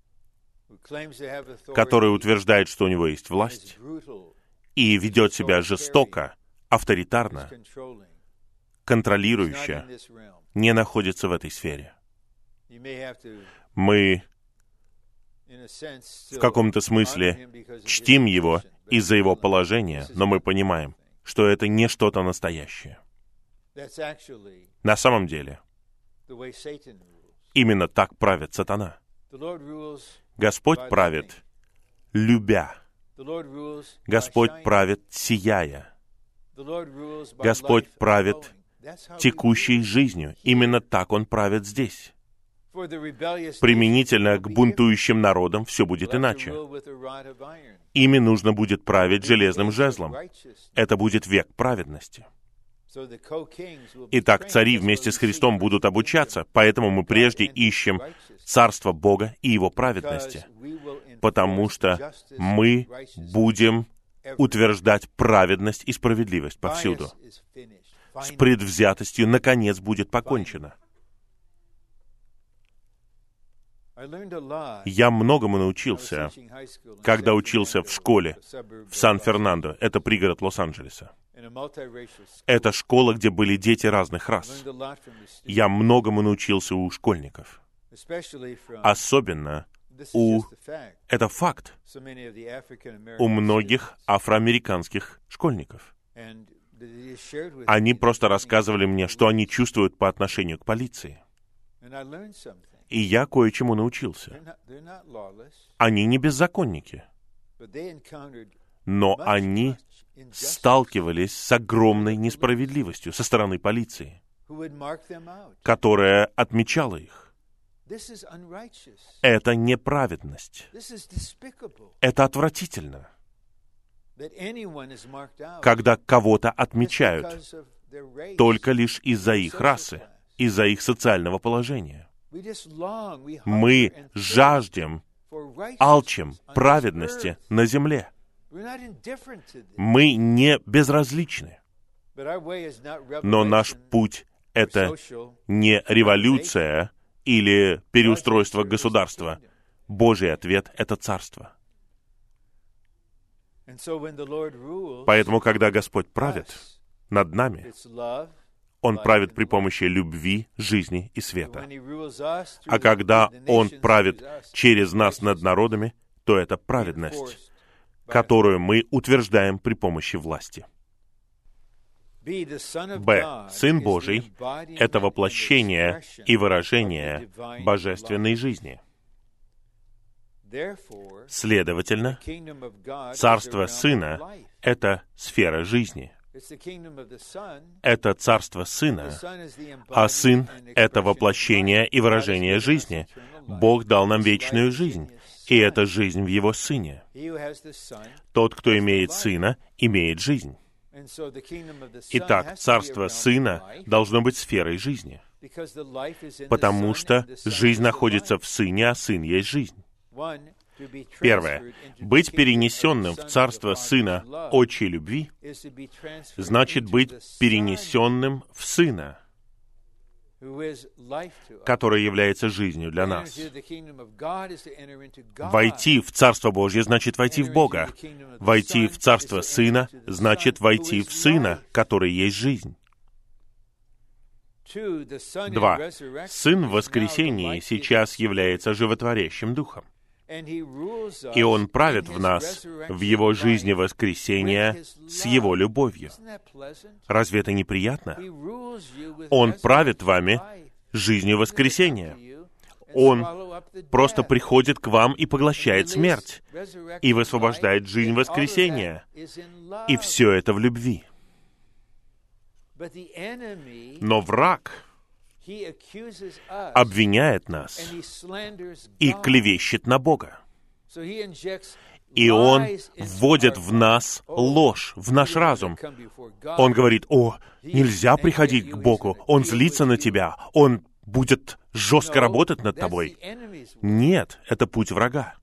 который утверждает, что у него есть власть, и ведет себя жестоко, авторитарно, контролирующе, не находится в этой сфере. Мы в каком-то смысле чтим его из-за его положения, но мы понимаем, что это не что-то настоящее. На самом деле, именно так правит сатана. Господь правит, любя. Господь правит, сияя. Господь правит текущей жизнью. Именно так Он правит здесь. Применительно к бунтующим народам все будет иначе. Ими нужно будет править железным жезлом. Это будет век праведности. Итак, цари вместе с Христом будут обучаться, поэтому мы прежде ищем Царство Бога и Его праведности, потому что мы будем утверждать праведность и справедливость повсюду. С предвзятостью, наконец, будет покончено. Я многому научился, когда учился в школе в Сан-Фернандо, это пригород Лос-Анджелеса. Это школа, где были дети разных рас. Я многому научился у школьников. Особенно это факт, у многих афроамериканских школьников. Они просто рассказывали мне, что они чувствуют по отношению к полиции. И я кое-чему научился. Они не беззаконники, но они сталкивались с огромной несправедливостью со стороны полиции, которая отмечала их. Это неправедность. Это отвратительно, когда кого-то отмечают только лишь из-за их расы, из-за их социального положения. Мы жаждем, алчим праведности на земле. Мы не безразличны. Но наш путь — это не революция или переустройство государства. Божий ответ — это царство. Поэтому, когда Господь правит над нами, Он правит при помощи любви, жизни и света. А когда Он правит через нас над народами, то это праведность, которую мы утверждаем при помощи власти. Б. Сын Божий — это воплощение и выражение божественной жизни. Следовательно, Царство Сына — это сфера жизни. Это Царство Сына, а Сын — это воплощение и выражение жизни. Бог дал нам вечную жизнь, и это жизнь в Его Сыне. Тот, кто имеет Сына, имеет жизнь. Итак, Царство Сына должно быть сферой жизни, потому что жизнь находится в Сыне, а Сын есть жизнь. Первое. Быть перенесенным в Царство Сына отчей любви значит быть перенесенным в Сына, который является жизнью для нас. Войти в Царство Божье значит войти в Бога. Войти в Царство Сына значит войти в Сына, который есть жизнь. 2. Сын в воскресении сейчас является животворящим Духом. И Он правит в нас в Его жизни воскресения с Его любовью. Разве это неприятно? Он правит вами жизнью воскресения. Он просто приходит к вам и поглощает смерть, и высвобождает жизнь воскресения. И все это в любви. Но враг обвиняет нас и клевещет на Бога. И он вводит в нас ложь, в наш разум. Он говорит: «О, нельзя приходить к Богу, Он злится на тебя, Он будет жестко работать над тобой». Нет, это путь врага.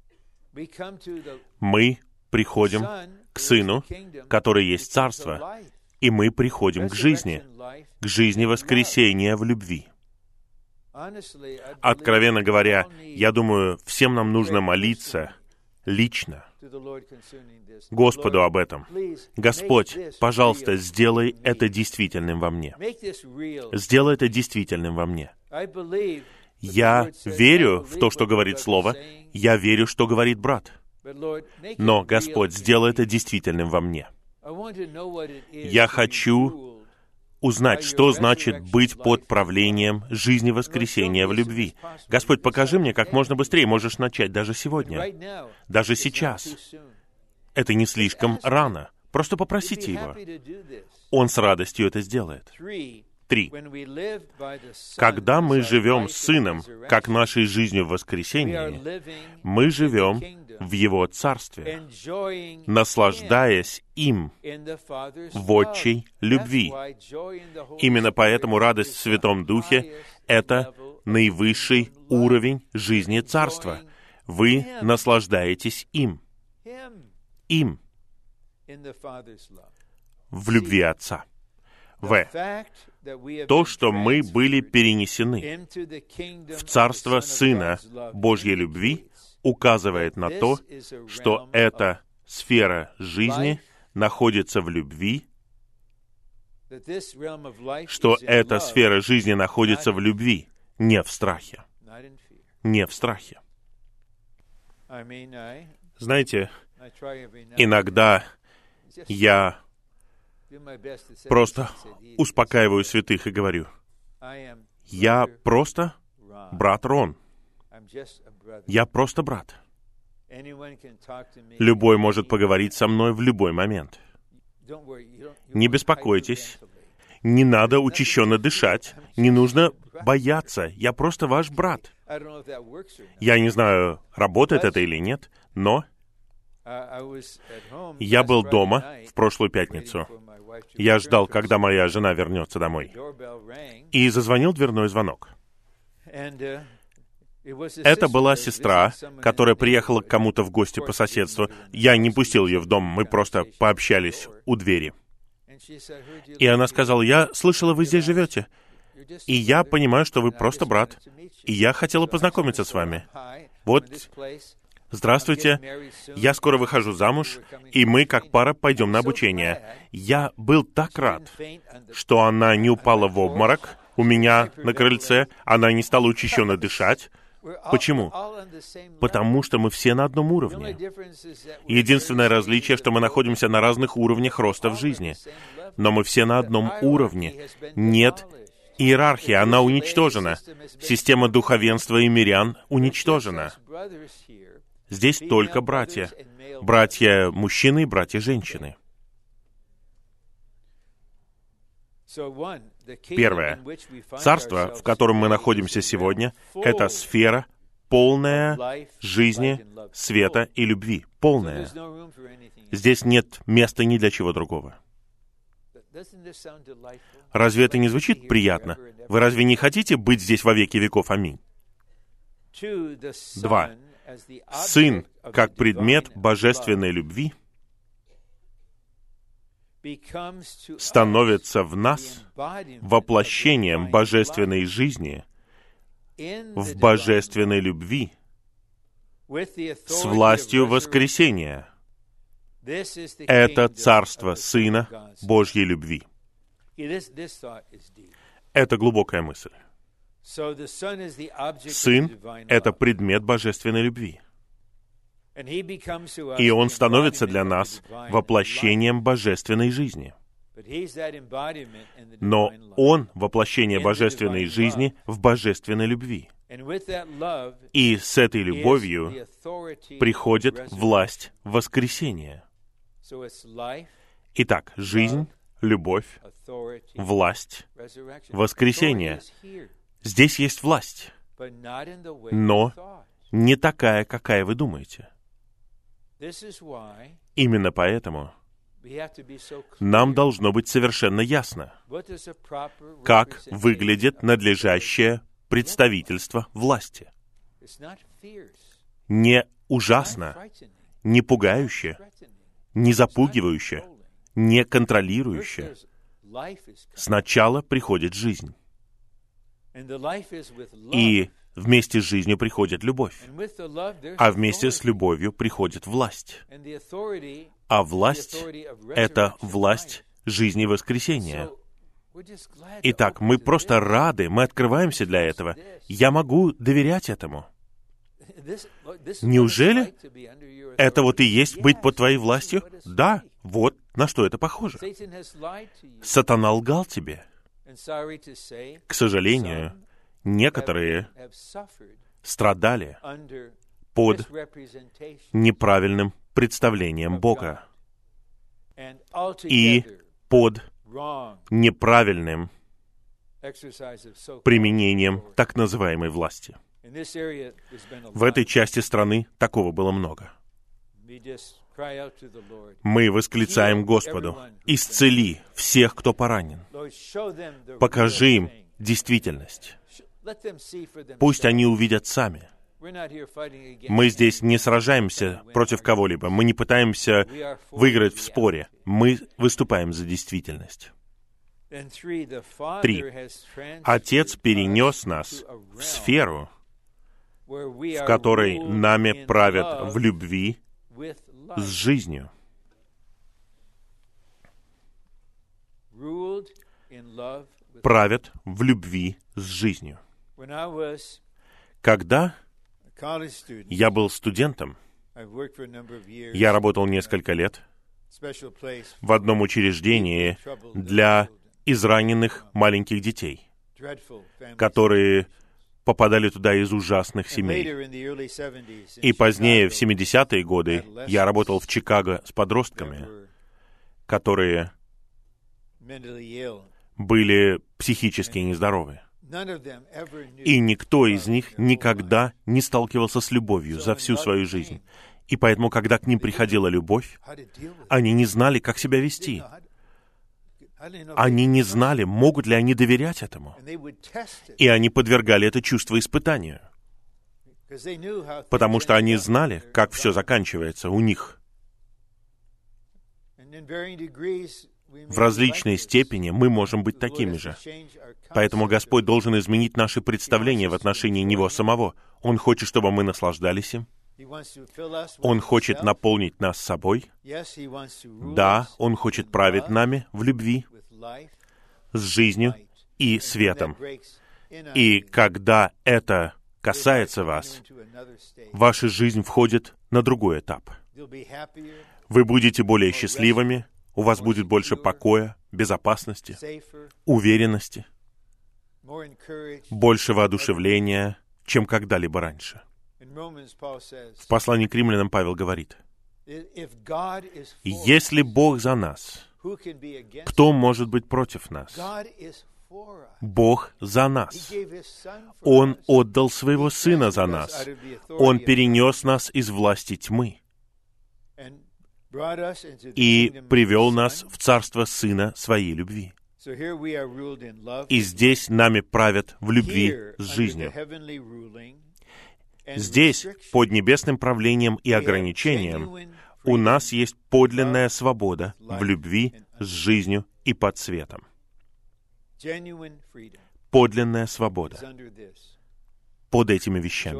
Мы приходим к Сыну, который есть Царство, и мы приходим к жизни воскресения в любви. Откровенно говоря, я думаю, всем нам нужно молиться лично Господу об этом. Господь, пожалуйста, сделай это действительным во мне. Сделай это действительным во мне. Я верю в то, что говорит Слово. Я верю, что говорит брат. Но, Господь, сделай это действительным во мне. Я хочу узнать, что значит быть под правлением жизни воскресения в любви. Господь, покажи мне как можно быстрее. Можешь начать даже сегодня, даже сейчас. Это не слишком рано. Просто попросите Его. Он с радостью это сделает. 3. Когда мы живем с Сыном, как нашей жизнью в воскресении, мы живем в Его Царстве, наслаждаясь им в отчей любви. Именно поэтому радость в Святом Духе — это наивысший уровень жизни Царства. Вы наслаждаетесь им. Им. В любви Отца. То, что мы были перенесены в Царство Сына Божьей любви, указывает на то, что эта сфера жизни находится в любви, что эта сфера жизни находится в любви, не в страхе. Не в страхе. Знаете, иногда я просто успокаиваю святых и говорю: я просто брат Рон. Я просто брат. Любой может поговорить со мной в любой момент. Не беспокойтесь. Не надо учащенно дышать. Не нужно бояться. Я просто ваш брат. Я не знаю, работает это или нет, но я был дома в прошлую пятницу. Я ждал, когда моя жена вернется домой. И зазвонил дверной звонок. Это была сестра, которая приехала к кому-то в гости по соседству. Я не пустил ее в дом, мы просто пообщались у двери. И она сказала: я слышала, вы здесь живете. И я понимаю, что вы просто брат. И я хотела познакомиться с вами. Вот, здравствуйте, я скоро выхожу замуж, и мы, как пара, пойдем на обучение. Я был так рад, что она не упала в обморок у меня на крыльце, она не стала учащенно дышать. Почему? Потому что мы все на одном уровне. Единственное различие, что мы находимся на разных уровнях роста в жизни. Но мы все на одном уровне. Нет иерархии, она уничтожена. Система духовенства и мирян уничтожена. Здесь только братья. Братья мужчины и братья женщины. Первое. Царство, в котором мы находимся сегодня, это сфера, полная жизни, света и любви. Полная. Здесь нет места ни для чего другого. Разве это не звучит приятно? Вы разве не хотите быть здесь во веки веков? Аминь. 2. Сын, как предмет божественной любви, становится в нас воплощением божественной жизни в божественной любви с властью воскресения. Это царство Сына Божьей любви. Это глубокая мысль. Сын — это предмет божественной любви. И Он становится для нас воплощением божественной жизни. Но Он — воплощение божественной жизни в божественной любви. И с этой любовью приходит власть воскресения. Итак, жизнь, любовь, власть, воскресение. Здесь есть власть, но не такая, какая вы думаете. Именно поэтому нам должно быть совершенно ясно, как выглядит надлежащее представительство власти. Не ужасно, не пугающе, не запугивающе, не контролирующе. Сначала приходит жизнь. И вместе с жизнью приходит любовь. А вместе с любовью приходит власть. А власть — это власть жизни воскресения. Итак, мы просто рады, мы открываемся для этого. Я могу доверять этому. Неужели это вот и есть быть под твоей властью? Да, вот на что это похоже. Сатана лгал тебе. К сожалению, некоторые страдали под неправильным представлением Бога и под неправильным применением так называемой власти. В этой части страны такого было много. Мы восклицаем Господу: «Исцели всех, кто поранен. Покажи им действительность. Пусть они увидят сами». Мы здесь не сражаемся против кого-либо. Мы не пытаемся выиграть в споре. Мы выступаем за действительность. 3. Отец перенес нас в сферу, в которой нами правят в любви с жизнью. Правят в любви с жизнью. Когда я был студентом, я работал несколько лет в одном учреждении для израненных маленьких детей, которые попадали туда из ужасных семей. И позднее, в 70-е годы, я работал в Чикаго с подростками, которые были психически нездоровы. И никто из них никогда не сталкивался с любовью за всю свою жизнь. И поэтому, когда к ним приходила любовь, они не знали, как себя вести. Они не знали, могут ли они доверять этому. И они подвергали это чувство испытанию. Потому что они знали, как все заканчивается у них. В различной степени мы можем быть такими же. Поэтому Господь должен изменить наши представления в отношении Него самого. Он хочет, чтобы мы наслаждались им. Он хочет наполнить нас собой. Да, Он хочет править нами в любви, с жизнью и светом. И когда это касается вас, ваша жизнь входит на другой этап. Вы будете более счастливыми, у вас будет больше покоя, безопасности, уверенности, больше воодушевления, чем когда-либо раньше. В послании к римлянам Павел говорит: «Если Бог за нас, кто может быть против нас? Бог за нас. Он отдал Своего Сына за нас. Он перенес нас из власти тьмы и привел нас в царство Сына Своей любви». И здесь нами правят в любви с жизнью. Здесь, под небесным правлением и ограничением, у нас есть подлинная свобода в любви с жизнью и под светом. Подлинная свобода под этими вещами.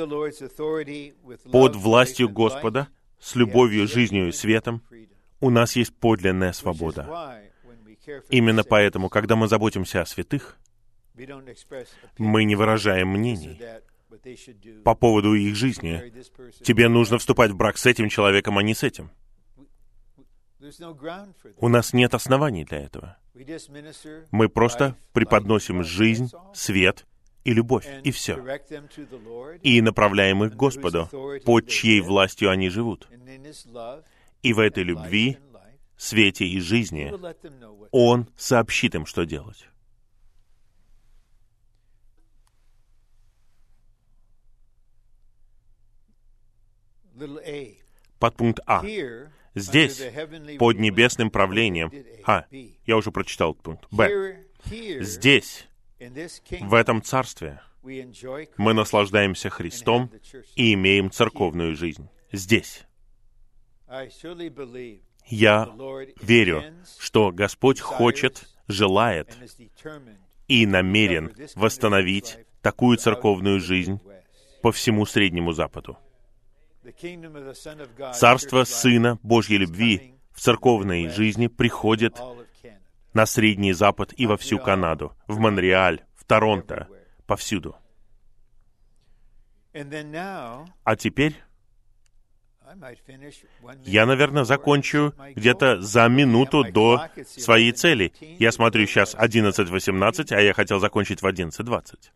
Под властью Господа, с любовью, жизнью и светом, у нас есть подлинная свобода. Именно поэтому, когда мы заботимся о святых, мы не выражаем мнений по поводу их жизни. Тебе нужно вступать в брак с этим человеком, а не с этим. У нас нет оснований для этого. Мы просто преподносим жизнь, свет и любовь, и все. И направляем их к Господу, под чьей властью они живут. И в этой любви, свете и жизни Он сообщит им, что делать. Подпункт А. Здесь, под небесным правлением... Я уже прочитал этот пункт. Б. Здесь, в этом царстве, мы наслаждаемся Христом и имеем церковную жизнь. Здесь. Я верю, что Господь хочет, желает и намерен восстановить такую церковную жизнь по всему Среднему Западу. Царство Сына Божьей любви в церковной жизни приходит на Средний Запад и во всю Канаду, в Монреаль, в Торонто, повсюду. А теперь я, наверное, закончу где-то за минуту до своей цели. Я смотрю сейчас 11:18, а я хотел закончить в 11:20.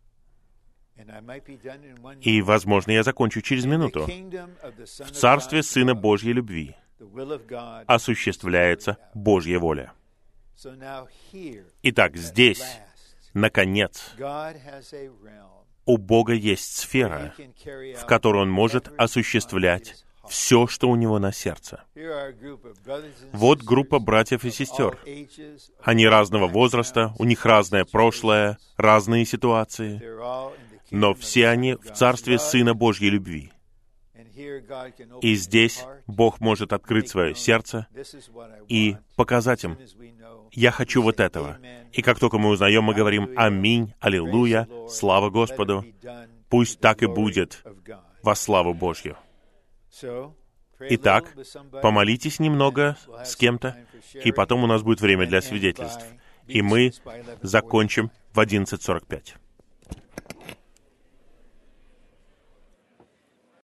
И, возможно, я закончу через минуту. В Царстве Сына Божьей любви осуществляется Божья воля. Итак, здесь, наконец, у Бога есть сфера, в которой Он может осуществлять все, что у Него на сердце. Вот группа братьев и сестер. Они разного возраста, у них разное прошлое, разные ситуации, но все они в Царстве Сына Божьей любви. И здесь Бог может открыть свое сердце и показать им: «Я хочу вот этого». И как только мы узнаем, мы говорим: «Аминь, аллилуйя, слава Господу, пусть так и будет во славу Божью». Итак, помолитесь немного с кем-то, и потом у нас будет время для свидетельств. И мы закончим в 11:45.